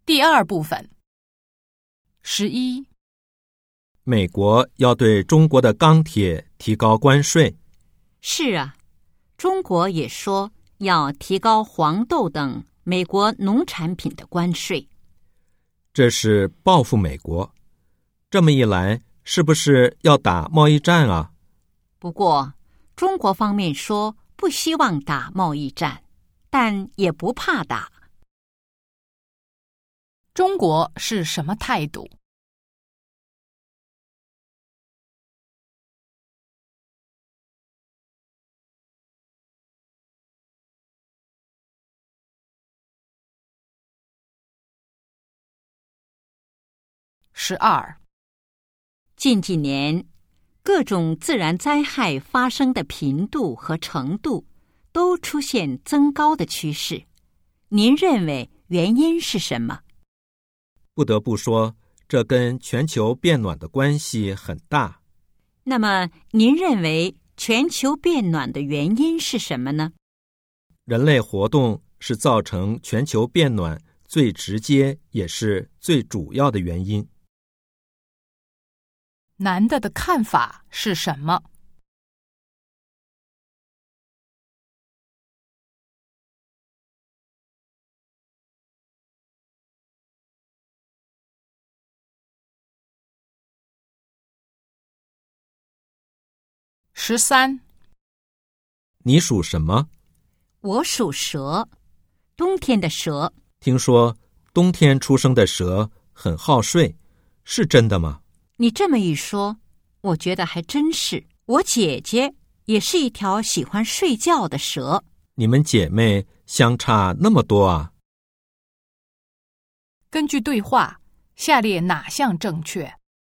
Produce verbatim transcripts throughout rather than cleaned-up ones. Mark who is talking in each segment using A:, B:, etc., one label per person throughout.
A: 第二部分。十一，
B: 美国要对中国的钢铁提高关税。
C: 是啊，中国也说要提高黄豆等美国农产品的关税。
B: 这是报复美国。这么一来，是不是要打贸易战啊？
C: 不过，中国方面说不希望打贸易战，但也不怕打。
A: 中国是什么态度？十二，
C: 近几年，各种自然灾害发生的频度和程度都出现增高的趋势。您认为原因是什么？
B: 不得不说，这跟全球变暖的关系很大。
C: 那么，您认为全球变暖的原因是什么呢？
B: 人类活动是造成全球变暖最直接也是最主要的原因。
A: 男的的看法是什么？十三，
B: 你属什么？
C: 我属蛇，冬天的蛇。
B: 听说冬天出生的蛇很好睡，是真的吗？
C: 你这么一说，我觉得还真是。我姐姐也是一条喜欢睡觉的蛇。
B: 你们姐妹相差那么多啊？
A: 根据对话，下列哪项正确？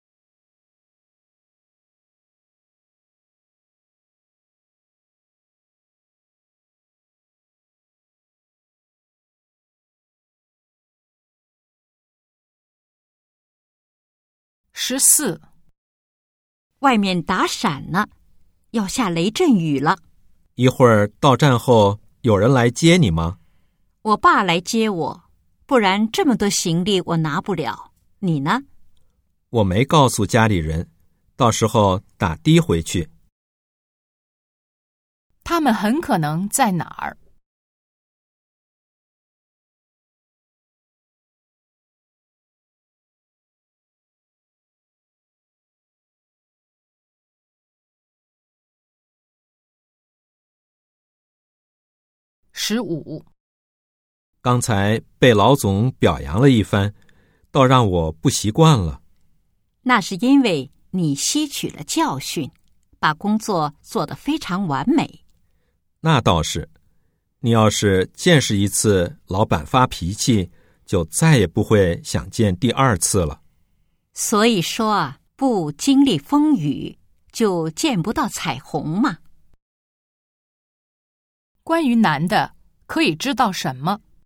A: 十四，
C: 外面打闪呢，要下雷阵雨了。
B: 一会儿到站后有人来接你吗？
C: 我爸来接我，不然这么多行李我拿不了。你呢？
B: 我没告诉家里人，到时候打的回去。
A: 他们很可能在哪儿？十五，
B: 刚才被老总表扬了一番，倒让我不习惯了。
C: 那是因为你吸取了教训，把工作做得非常完美。
B: 那倒是，你要是见识一次老板发脾气，就再也不会想见第二次了。
C: 所以说啊，不经历风雨，就见不到彩虹嘛。
A: 关于男的，可以知道什么？